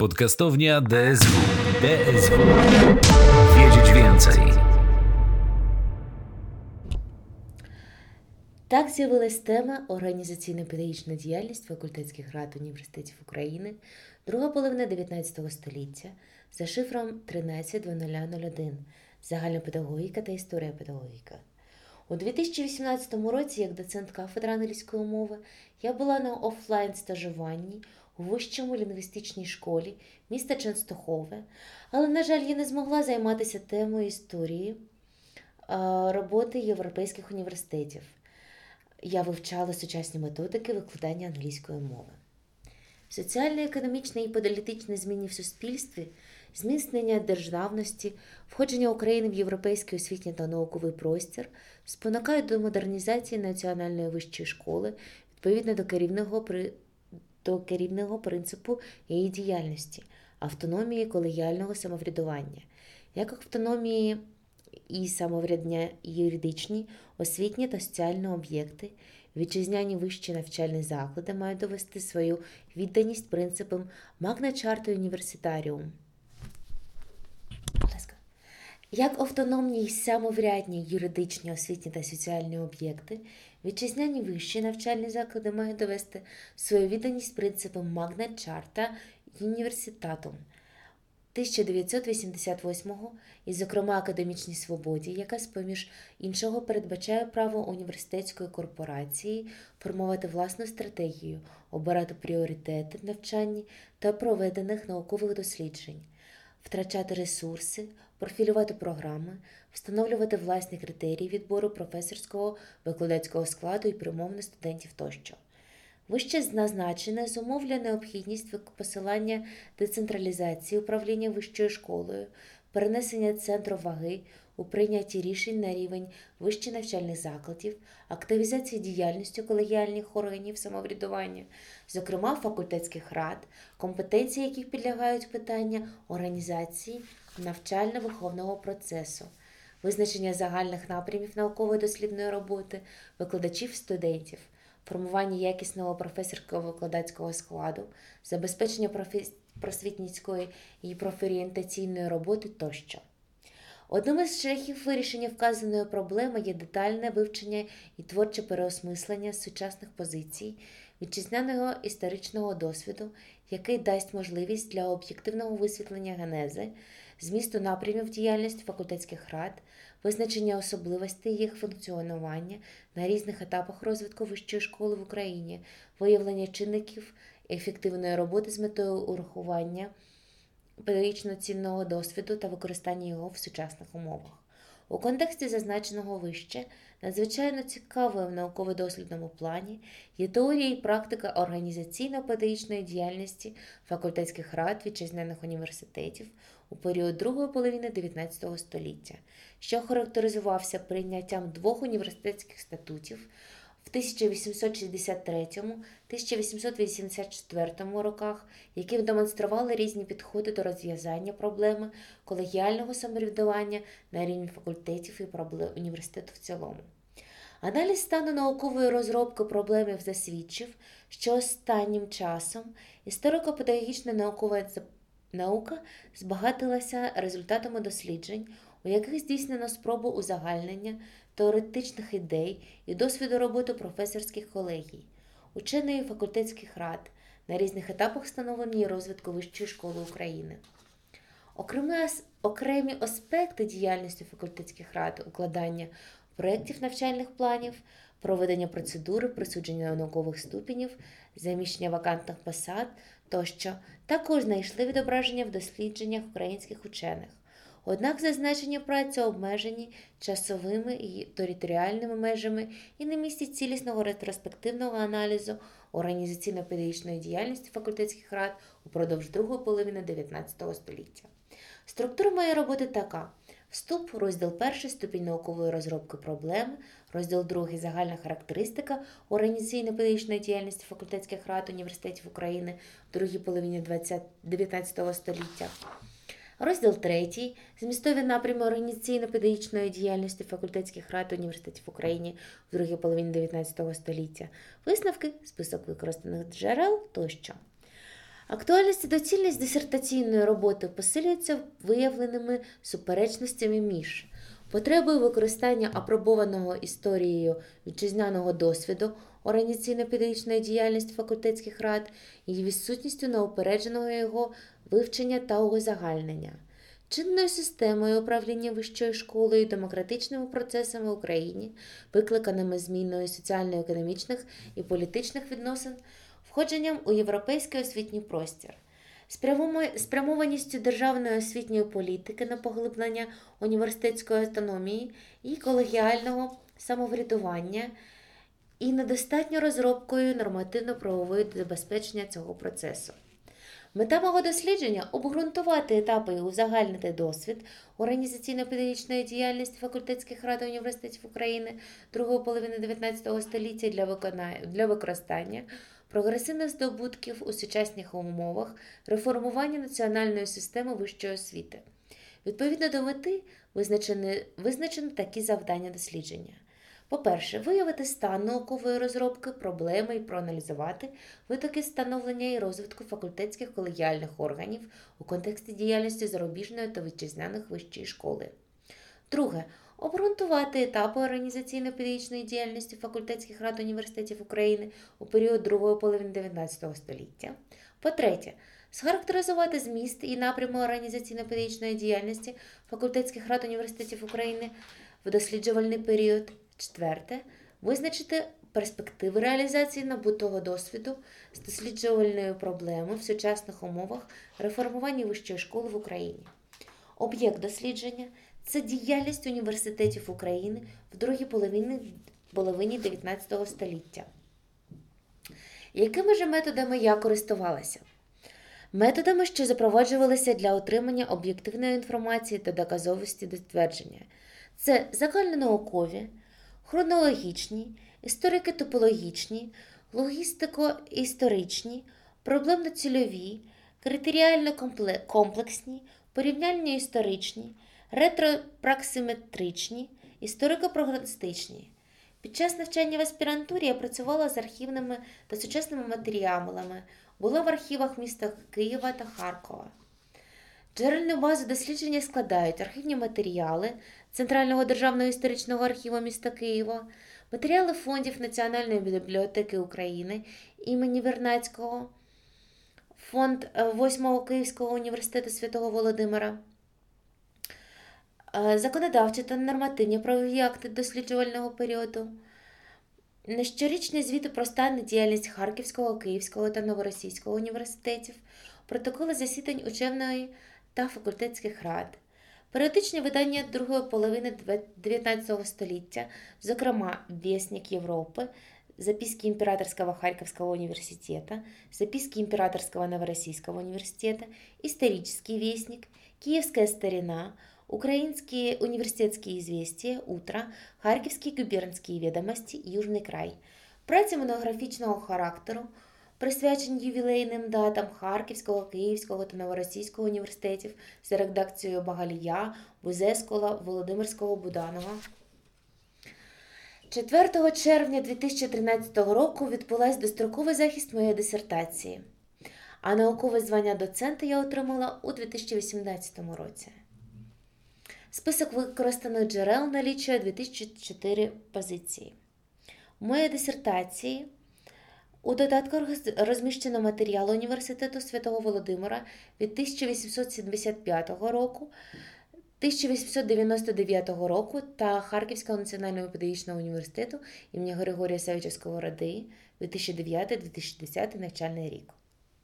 Podcastownia DSW. Wiedzieć więcej. Так з'явилась тема «Організаційно-педагогічна діяльність факультетських рад університетів України, друга половина 19 століття» за шифром 13-0001 «Загальна педагогіка та історія педагогіки». У 2018 році, як доцент кафедри англійської мови, я була на офлайн-стажуванні у Вищому лінгвістичній школі міста Ченстохове, але, на жаль, я не змогла займатися темою історії роботи європейських університетів. Я вивчала сучасні методики викладання англійської мови. Соціально-економічні і політичні зміни в суспільстві, зміцнення державності, входження України в європейський освітній та науковий простір спонукають до модернізації національної вищої школи відповідно до керівного принципу її діяльності – автономії колегіального самоврядування, як автономії і самоврядення юридичні, освітні та соціальні об'єкти, вітчизняні вищі навчальні заклади мають довести свою відданість принципам Magna Charta Universitarium. Як автономні й самоврядні юридичні, освітні та соціальні об'єкти, вітчизняні вищі навчальні заклади мають довести свою відданість принципам Magna Charta Universitatum 1988-го і, зокрема, академічній свободі, яка, з-поміж іншого, передбачає право університетської корпорації формувати власну стратегію, обирати пріоритети в навчанні та проведених наукових досліджень, втрачати ресурси, профілювати програми, встановлювати власні критерії відбору професорського, викладацького складу і примовних студентів тощо. Вище назначене зумовлює необхідність посилання децентралізації управління вищою школою, перенесення центру ваги у прийнятті рішень на рівень вищих навчальних закладів, активізації діяльності колегіальних органів самоврядування, зокрема факультетських рад, компетенції яких підлягають питання організації навчально-виховного процесу, визначення загальних напрямів науково-дослідної роботи, викладачів, студентів, формування якісного професорського викладацького складу, забезпечення просвітницької і профорієнтаційної роботи тощо. Одним із шляхів вирішення вказаної проблеми є детальне вивчення і творче переосмислення сучасних позицій, вітчизняного історичного досвіду, який дасть можливість для об'єктивного висвітлення генези, змісту напрямів діяльності факультетських рад, визначення особливостей їх функціонування на різних етапах розвитку вищої школи в Україні, виявлення чинників ефективної роботи з метою урахування педагогічно цінного досвіду та використання його в сучасних умовах. У контексті зазначеного вище надзвичайно цікавою в науково-дослідному плані є теорія і практика організаційно-педагогічної діяльності факультетських рад вітчизняних університетів у період другої половини 19 століття, що характеризувався прийняттям двох університетських статутів в 1863-1884 роках, які демонстрували різні підходи до розв'язання проблеми колегіального самоврядування на рівні факультетів і університету в цілому. Аналіз стану наукової розробки проблеми засвідчив, що останнім часом історико-педагогічна наука збагатилася результатами досліджень, у яких здійснено спробу узагальнення теоретичних ідей і досвіду роботи професорських колегій, ученої факультетських рад на різних етапах становлення і розвитку вищої школи України. Окремі аспекти діяльності факультетських рад, укладання проєктів навчальних планів, проведення процедури, присудження наукових ступенів, заміщення вакантних посад тощо також знайшли відображення в дослідженнях українських учених. Однак зазначені праці обмежені часовими і територіальними межами і не містять цілісного ретроспективного аналізу організаційно-педагогічної діяльності факультетських рад упродовж другої половини 19 століття. Структура моєї роботи така. Вступ, розділ 1 – ступінь наукової розробки проблеми, розділ 2 – загальна характеристика організаційно-педагогічної діяльності факультетських рад університетів України в другій половині 19 століття. Розділ 3 – змістові напрями організаційно-педагогічної діяльності факультетських рад університетів України в другій половині 19 століття. Висновки, список використаних джерел тощо. Актуальність і доцільність дисертаційної роботи посилюються виявленими суперечностями між потребою використання апробованого історією вітчизняного досвіду організаційно-педагогічної діяльності факультетських рад і відсутністю неупередженого його вивчення та узагальнення, чинною системою управління вищою школою і демократичними процесами в Україні, викликаними зміною соціально-економічних і політичних відносин, входженням у європейський освітній простір, спрямованістю державної освітньої політики на поглиблення університетської автономії і колегіального самоврядування і недостатньо розробкою нормативно-правової забезпечення цього процесу. Мета мого дослідження – обґрунтувати етапи і узагальнити досвід організаційно-педагогічної діяльності факультетських рад університетів України другої половини 19 століття для використання прогресивних здобутків у сучасних умовах реформування національної системи вищої освіти. Відповідно до мети визначено такі завдання дослідження. По-перше, виявити стан наукової розробки, проблеми і проаналізувати витоки становлення і розвитку факультетських колегіальних органів у контексті діяльності зарубіжної та вітчизняних вищої школи. Друге, обґрунтувати етапи організаційно-педагогічної діяльності факультетських рад університетів України у період другої половини 19 століття. По-третє, схарактеризувати зміст і напрями організаційно-педагогічної діяльності факультетських рад університетів України в досліджувальний період. Четверте, визначити перспективи реалізації набутого досвіду з досліджувальної проблеми в сучасних умовах реформування вищої школи в Україні. Об'єкт дослідження – це діяльність університетів України в другій половині 19 століття. Якими ж методами я користувалася? Методами, що запроваджувалися для отримання об'єктивної інформації та доказовості до твердження. Це загальнонаукові, хронологічні, історико-топологічні, логістико-історичні, проблемно-цільові, критеріально-комплексні, порівняльно-історичні, ретропраксиметричні, історико-прогностичні. Під час навчання в аспірантурі я працювала з архівними та сучасними матеріалами, була в архівах міста Києва та Харкова. Джерельну базу дослідження складають архівні матеріали Центрального державного історичного архіву міста Києва, матеріали фондів Національної бібліотеки України імені Вернадського, фонд 8-го Київського університету Святого Володимира, законодавчі та нормативні правові акти досліджувального періоду, щорічні звіти про стан і діяльність Харківського, Київського та Новоросійського університетів, протоколи засідань учебної та факультетських рад, періодичні видання другої половини 19 століття, зокрема «Вестник Європи», записки Императорского Харьковского университета, записки Императорского Новороссийского университета, исторический вестник, Киевская старина, Украинские университетские известия, Утро, Харківські губернські відомості, Южний край. Праці монографічного характеру, присвячені ювілейним датам Харківського, Київського та Новоросійського університетів за редакцією Багалія, Бузескола, Володимирського, Буданова. 4 червня 2013 року відбулась достроковий захист моєї дисертації, а наукове звання доцента я отримала у 2018 році. Список використаних джерел налічує 2004 позиції. У моїй дисертації у додатках розміщено матеріал Університету Святого Володимира від 1875 року, 1899 року та Харківського національного педагогічного університету імені Григорія Савича Сковороди 2009-2010 навчальний рік.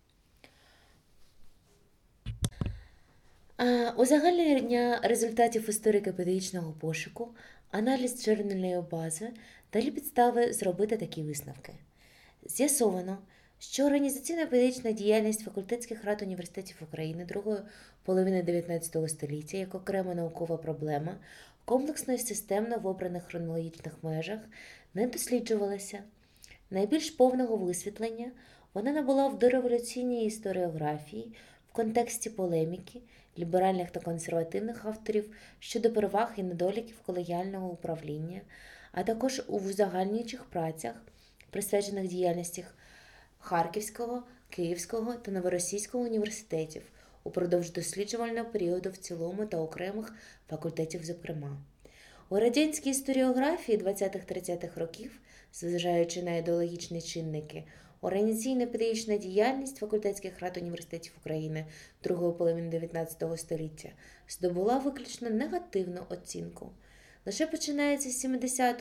Узагальнення результатів історико-педагогічного пошуку, аналіз джерельної бази дали підстави зробити такі висновки. З'ясовано, що організаційно-педагогічна діяльність факультетських рад університетів України другої половини 19 століття як окрема наукова проблема, комплексно і системно в обраних хронологічних межах не досліджувалася. Найбільш повного висвітлення вона набула в дореволюційній історіографії в контексті полеміки ліберальних та консервативних авторів щодо переваг і недоліків колегіального управління, а також у узагальнюючих працях, присвячених діяльності Харківського, Київського та Новоросійського університетів упродовж досліджувального періоду в цілому та окремих факультетів зокрема. У радянській історіографії 20-30-х років, зважаючи на ідеологічні чинники, організаційно-педагогічна діяльність факультетських рад університетів України другої половини 19 століття здобула виключно негативну оцінку. Лише починається з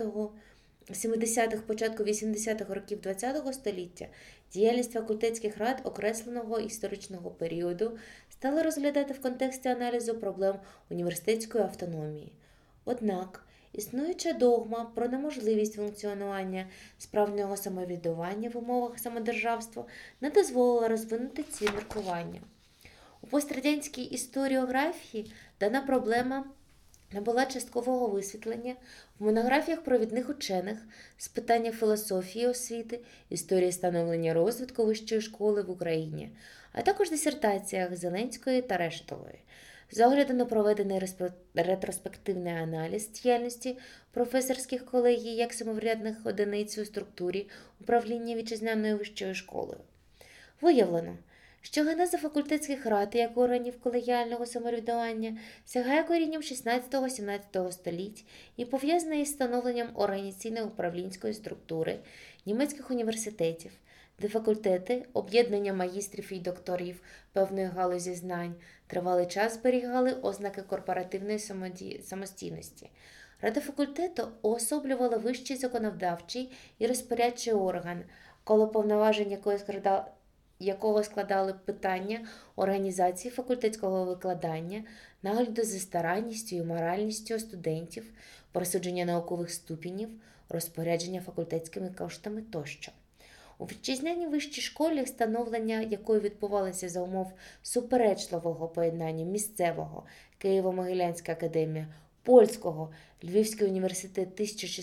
70-х, початку 80-х років ХХ століття діяльність факультетських рад окресленого історичного періоду стала розглядати в контексті аналізу проблем університетської автономії. Однак, існуюча догма про неможливість функціонування справжнього самоврядування в умовах самодержавства не дозволила розвинути ці міркування. У пострадянській історіографії дана проблема набула часткового висвітлення в монографіях провідних учених з питання філософії освіти, історії становлення розвитку вищої школи в Україні, а також дисертаціях Зеленської та Рештової. З огляду на проведений ретроспективний аналіз діяльності професорських колегій як самоврядних одиниць у структурі управління вітчизняною вищою школою, виявлено, що генеза факультетських рад як органів колегіального самоврядування сягає корінням 16-17 століть і пов'язана із становленням організаційно-управлінської структури німецьких університетів, де факультети, об'єднання магістрів і докторів певної галузі знань тривалий час зберігали ознаки корпоративної самостійності. Рада факультету уособлювала вищий законодавчий і розпорядчий орган, коло повноважень якого складали питання організації факультетського викладання, нагляду за старанністю і моральністю студентів, присудження наукових ступенів, розпорядження факультетськими коштами тощо. У вітчизняній вищій школі, становлення якої відбувалося за умов суперечливого поєднання місцевого Києво-Могилянська академія, польського Львівський університет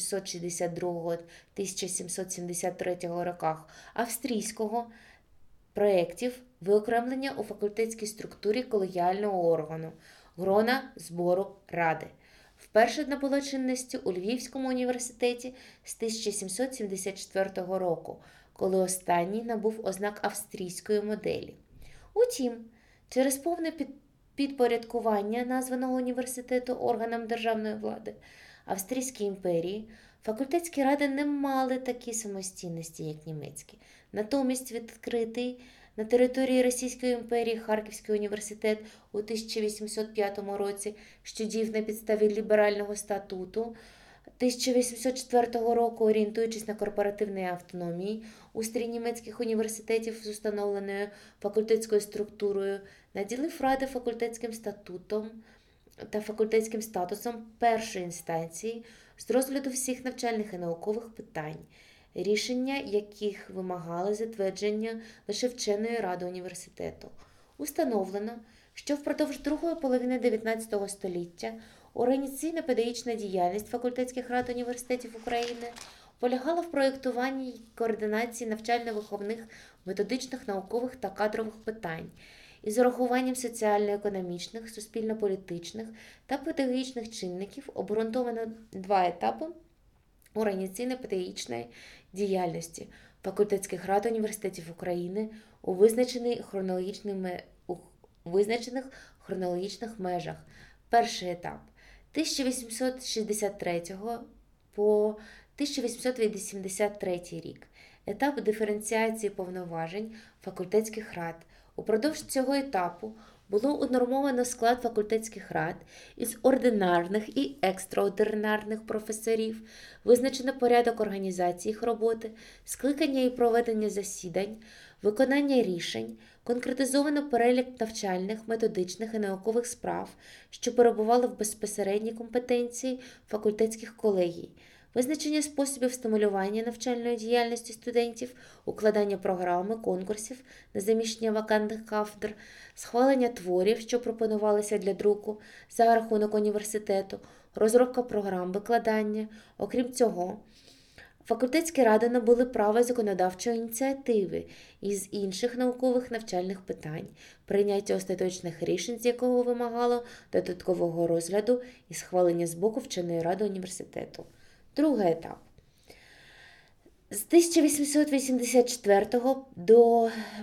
1662-1773 роках, австрійського проєктів виокремлення у факультетській структурі колегіального органу, грона збору ради. Вперше набуло чинності у Львівському університеті з 1774 року, коли останній набув ознак австрійської моделі. Утім, через повне підпорядкування названого університету органам державної влади Австрійської імперії, факультетські ради не мали такі самостійності, як німецькі. Натомість відкритий на території Російської імперії Харківський університет у 1805 році, що діяв на підставі ліберального статуту 1804 року, орієнтуючись на корпоративної автономії, устрій німецьких університетів з установленою факультетською структурою, наділив ради факультетським статутом та факультетським статусом першої інстанції з розгляду всіх навчальних і наукових питань, рішення яких вимагали затвердження лише вченої ради університету. Установлено, що впродовж другої половини 19 століття організаційно-педагогічна діяльність факультетських рад університетів України полягала в проєктуванні й координації навчально-виховних, методичних, наукових та кадрових питань із урахуванням соціально-економічних, суспільно-політичних та педагогічних чинників. Обґрунтовано два етапи організаційно-педагогічної діяльності факультетських рад університетів України у визначених хронологічних межах. Перший етап – 1863 по 1883 рік. Етап диференціації повноважень факультетських рад. Упродовж цього етапу було унормовано склад факультетських рад із ординарних і екстраординарних професорів, визначено порядок організації їх роботи, скликання і проведення засідань, виконання рішень, конкретизовано перелік навчальних, методичних і наукових справ, що перебували в безпосередній компетенції факультетських колегій, визначення способів стимулювання навчальної діяльності студентів, укладання програми, конкурсів на заміщення вакантних кафедр, схвалення творів, що пропонувалися для друку за рахунок університету, розробка програм викладання. Окрім цього, факультетські ради набули право законодавчої ініціативи із інших наукових навчальних питань, прийняття остаточних рішень, з якого вимагало додаткового розгляду і схвалення з боку вченої ради університету. Другий етап. З 1884 до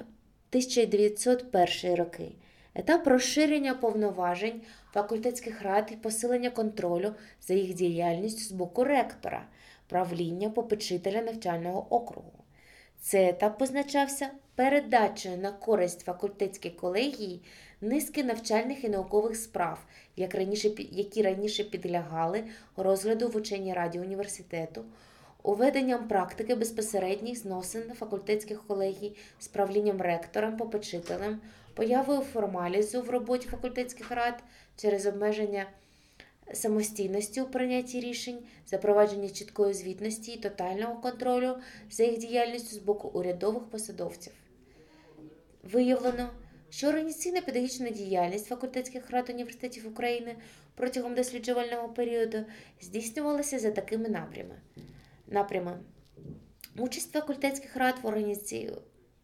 1901 роки. Етап розширення повноважень факультетських рад і посилення контролю за їх діяльністю з боку ректора, правління попечителя навчального округу. Цей етап позначався передачею на користь факультетській колегії низки навчальних і наукових справ, які раніше підлягали розгляду в ученій раді університету, уведенням практики безпосередніх зносин факультетських колегій з правлінням ректором, попечителем, появою формалізу в роботі факультетських рад через обмеження самостійності у прийнятті рішень, запровадження чіткої звітності і тотального контролю за їх діяльністю з боку урядових посадовців. Виявлено, що організаційна педагогічна діяльність факультетських рад університетів України протягом досліджувального періоду здійснювалася за такими напрямами. Участь факультетських рад в організації.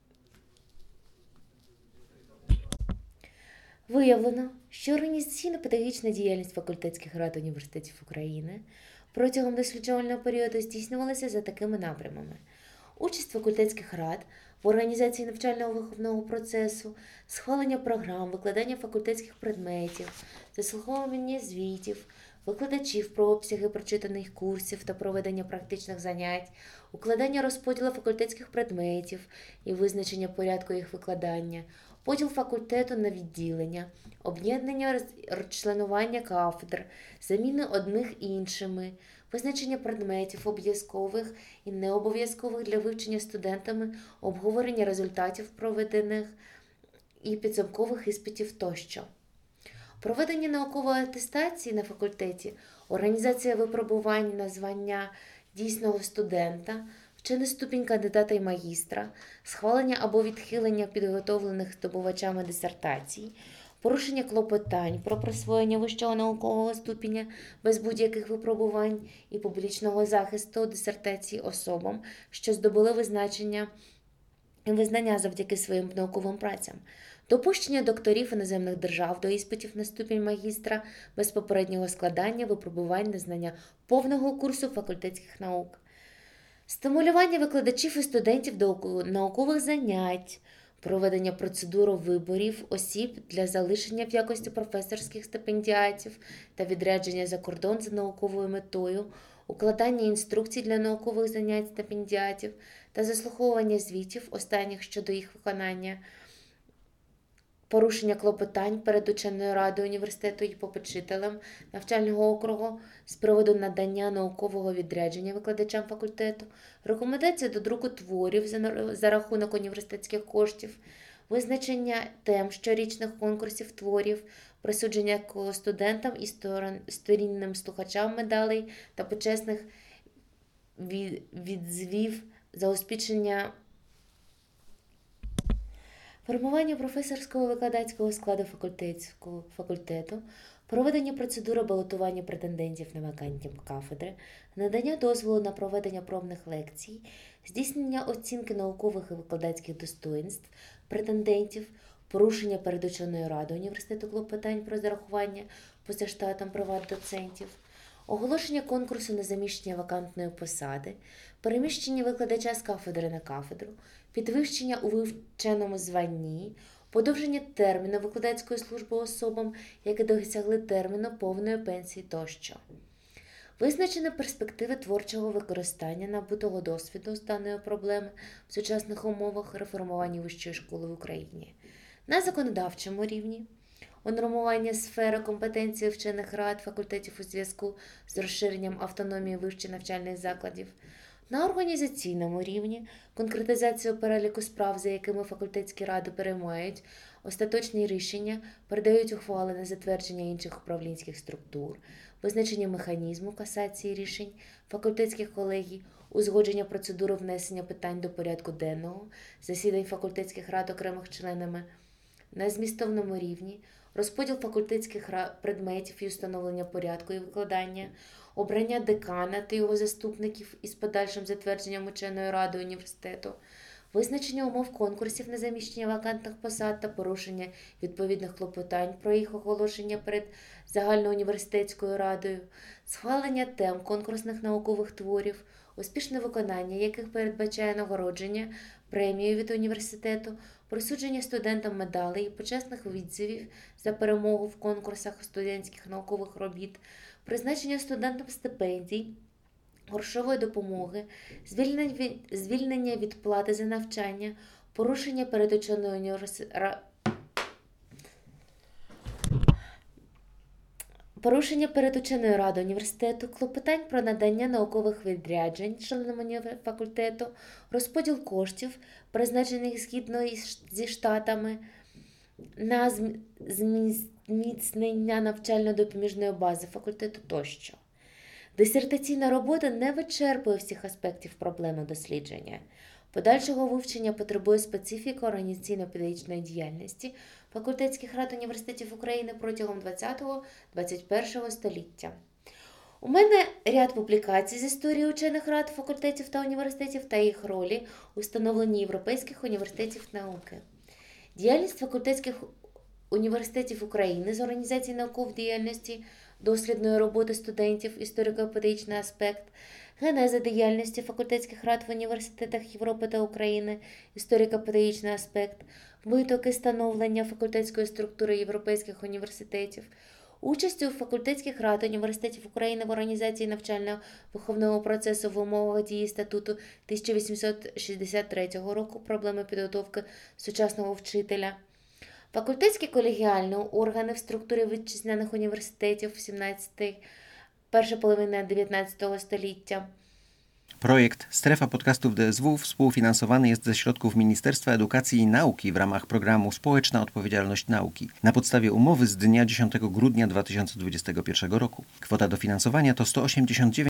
Виявлено, що організаційно-педагогічна діяльність факультетських рад університетів України протягом досліджувального періоду здійснювалася за такими напрямами. Участь факультетських рад в організації навчально-виховного процесу, схвалення програм, викладання факультетських предметів, заслуховування звітів, викладачів про обсяги прочитаних курсів та проведення практичних занять, укладання розподілу факультетських предметів і визначення порядку їх викладання, поділ факультету на відділення, об'єднання розчленування кафедр, заміни одних іншими, визначення предметів обов'язкових і необов'язкових для вивчення студентами, обговорення результатів проведених і підсумкових іспитів тощо. Проведення наукової атестації на факультеті, організація випробувань на звання дійсного студента, вчений ступінь кандидата і магістра, схвалення або відхилення підготовлених здобувачами дисертацій, порушення клопотань про присвоєння вищого наукового ступеня без будь-яких випробувань і публічного захисту дисертацій особам, що здобули визнання завдяки своїм науковим працям, допущення докторів іноземних держав до іспитів на ступінь магістра без попереднього складання випробувань на знання повного курсу факультетських наук, стимулювання викладачів і студентів до наукових занять, проведення процедури виборів осіб для залишення в якості професорських стипендіатів та відрядження за кордон за науковою метою, укладання інструкцій для наукових занять стипендіатів та заслуховування звітів останніх щодо їх виконання, порушення клопотань перед ученою радою університету і попечителем навчального округу з приводу надання наукового відрядження викладачам факультету, рекомендація до друку творів за рахунок університетських коштів, визначення тем щорічних конкурсів творів, присудження студентам і сторінним слухачам медалей та почесних відзвів за успішення формування професорського викладацького складу факультету, проведення процедури балотування претендентів на вакантні кафедри, надання дозволу на проведення пробних лекцій, здійснення оцінки наукових і викладацьких достоїнств претендентів, порушення перед ученою радою університету клопотань про зарахування поза штатом приват-доцентів, оголошення конкурсу на заміщення вакантної посади, переміщення викладача з кафедри на кафедру, підвищення у вивченому званні, подовження терміну викладацької служби особам, які досягли терміну повної пенсії тощо. Визначені перспективи творчого використання набутого досвіду з даної проблеми в сучасних умовах реформування вищої школи в Україні. На законодавчому рівні унормування сфери компетенції вчених рад факультетів у зв'язку з розширенням автономії вищих навчальних закладів. На організаційному рівні конкретизацію переліку справ, за якими факультетські ради переймають остаточні рішення, передають ухвали на затвердження інших управлінських структур, визначення механізму касації рішень факультетських колегій, узгодження процедури внесення питань до порядку денного, засідань факультетських рад окремих членами. На змістовному рівні розподіл факультетських предметів і установлення порядку і викладання, обрання декана та його заступників із подальшим затвердженням ученою радою університету, визначення умов конкурсів на заміщення вакантних посад та порушення відповідних клопотань про їх оголошення перед загальноуніверситетською радою, схвалення тем конкурсних наукових творів, успішне виконання яких передбачає нагородження премією від університету, присудження студентам медалей і почесних відзивів за перемогу в конкурсах студентських наукових робіт, призначення студентам стипендій, грошової допомоги, звільнення від плати за навчання, порушення перед ученою радою університету, клопотань про надання наукових відряджень членам факультету, розподіл коштів, призначених згідно зі штатами, на зміцнення навчально-допоміжної бази факультету тощо. Дисертаційна робота не вичерпує всіх аспектів проблеми дослідження. Подальшого вивчення потребує специфіки організаційно-педагогічної діяльності факультетських рад університетів України протягом 20-21 століття. У мене ряд публікацій з історії учених рад факультетів та університетів та їх ролі у становленні європейських університетів науки. Діяльність факультетських університетів України з організації наукової діяльності, дослідної роботи студентів, історико-педагогічний аспект, генеза діяльності факультетських рад в університетах Європи та України, історико-педагогічний аспект, витоки становлення факультетської структури європейських університетів, участь у факультетських рад університетів України в організації навчально-виховного процесу в умовах дії статуту 1863 року, проблеми підготовки сучасного вчителя, факультетські колегіальні органи в структурі вітчизняних університетів перша половина 19 століття. Projekt Strefa Podcastów DSW współfinansowany jest ze środków Ministerstwa Edukacji i Nauki w ramach programu Społeczna Odpowiedzialność Nauki na podstawie umowy z dnia 10 grudnia 2021 roku. Kwota dofinansowania to 189